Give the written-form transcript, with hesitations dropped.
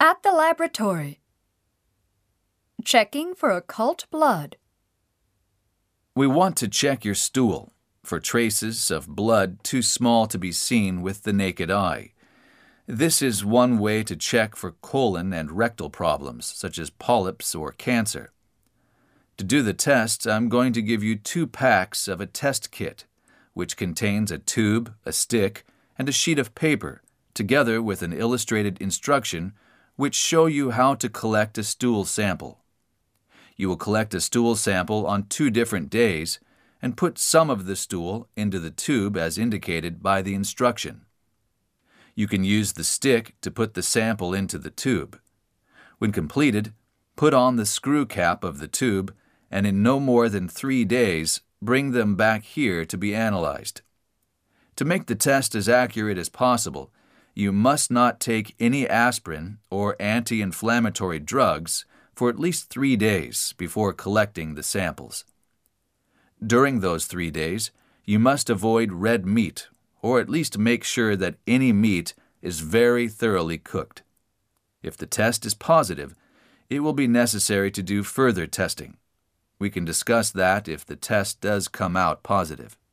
At the laboratory. Checking for occult blood. We want to check your stool for traces of blood too small to be seen with the naked eye. This is one way to check for colon and rectal problems, such as polyps or cancer. To do the test, I'm going to give you 2 packs of a test kit, which contains a tube, a stick, and a sheet of paper, together with an illustrated instruction which show you how to collect a stool sample. You will collect a stool sample on 2 different days and put some of the stool into the tube as indicated by the instruction. You can use the stick to put the sample into the tube. When completed, put on the screw cap of the tube and in no more than 3 days, bring them back here to be analyzed. To make the test as accurate as possible, you must not take any aspirin or anti-inflammatory drugs for at least 3 days before collecting the samples. During those 3 days, you must avoid red meat, or at least make sure that any meat is very thoroughly cooked. If the test is positive, it will be necessary to do further testing. We can discuss that if the test does come out positive.